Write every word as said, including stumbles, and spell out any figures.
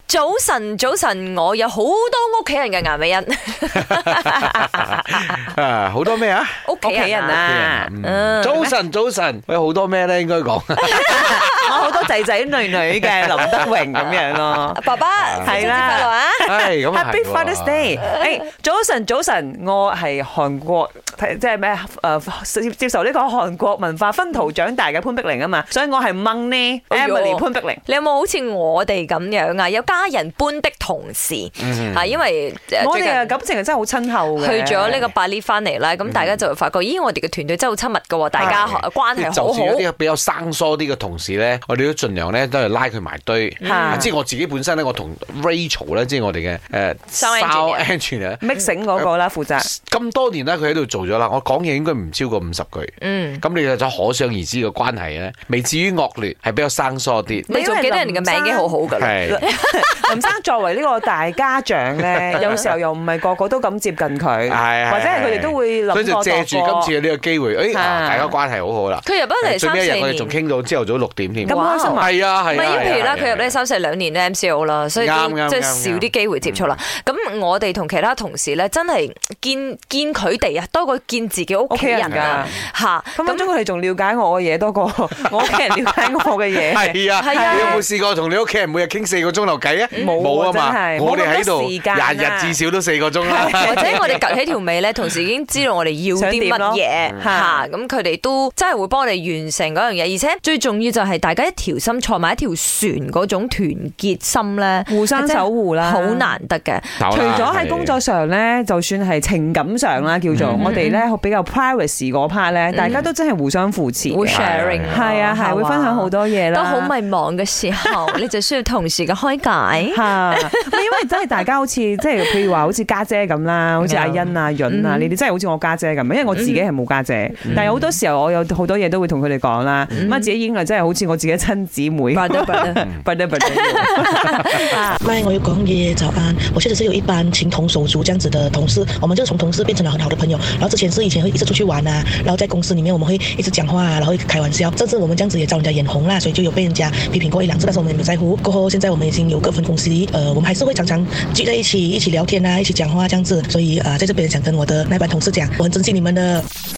早晨，早晨，我有好多屋企人嘅顏美欣。 啊，好多咩啊？ 屋企人啊！ 嗯、早晨，早晨，喂，好多咩咧？應該講。 我好多仔仔女女嘅林德榮咁樣咯。 爸爸係啦， 係咁 Happy Father's Day！誒，早晨，早晨，我係韓國即係咩誒接受呢個韓國文化薰陶長大嘅潘碧玲啊嘛，所以我係掹呢 Emily 潘碧玲。 你有冇好似我哋咁樣啊？有家人般的同事啊，因為我哋嘅感情係真係好親厚嘅。 去咗呢個巴黎翻嚟啦，咁大家就會發覺，咦，我哋嘅團隊真係好親密噶，大家關係好好。 就算有啲比較生疏啲嘅同事咧，我哋都盡量咧都係拉佢埋堆。即係我自己本身咧，我同 Rachel 咧，即係我哋嘅誒 sound engineer mixing 嗰個啦，負責咁多年啦，佢喺度做咗啦。我講嘢應該唔超過五十句。嗯，咁你就可想而知嘅關係咧，未至於惡劣，係比較生疏啲。 你仲記得人哋嘅名已經好好噶啦。 林生作為呢個大家長咧，有時候又唔係個個都咁接近佢，或者係佢哋都會諗過。 所以就借住今次嘅呢個機會，誒，大家關係好好啦。 佢入咗嚟三四年，最尾一日我哋仲傾到朝頭早六點添。 咁開心啊！ 係啊係啊。 唔係，譬如啦，佢入嚟三四兩年咧 M C O 啦，所以即係少啲機會接觸啦。咁我哋同其他同事咧，真係見見佢哋啊，多過見自己屋企人㗎嚇。 咁分鐘佢哋仲了解我嘅嘢多過我屋企人了解我嘅嘢。 係啊，係啊。你有冇試過同你屋企人每日傾四個鐘頭偈啊？冇啊嘛。我哋喺度廿日至少都四個鐘啦。 或者我哋趌起條尾咧，同時已經知道我哋要啲乜嘢嚇，咁佢哋都真係會幫我哋完成嗰樣嘢，而且最重要就係大家一條心坐埋一條船嗰種團結心咧， 互相守護啦， 好難得嘅。 除咗喺工作上咧，就算係情感上啦，叫做我哋咧比較 privacy 嗰 part 咧，大家都真係互相扶持， 會 sharing， 係啊係，會分享好多嘢啦。 都好迷茫嘅時候，你就需要同事嘅開解。 嚇，因為真係大家好似即係譬如話好似家姐咁啦，好似阿欣啊、潤啊，你哋真係好似我家姐咁，因為我自己係冇家姐，但係好多時候我有好多嘢都會同佢哋講啦，咁啊自己已經係真係好似我自己親姊妹。 唔係，我有講爺爺早安。我確實是有一班情同手足這樣子的同事，我們就從同事變成了很好的朋友。然後之前是以前會一直出去玩啊，然後在公司裡面我們會一直講話啊，然後開玩笑，甚至我們這樣子也招人家眼紅啦，所以就有被人家批評過一兩次，但是我們也沒在乎。過後現在我們已經有各分公司，呃，我們還是會常常聚在一起，一起聊天啊，一起講話這樣子。所以啊、呃，在這邊想跟我的那班同事講，我很珍惜你們的。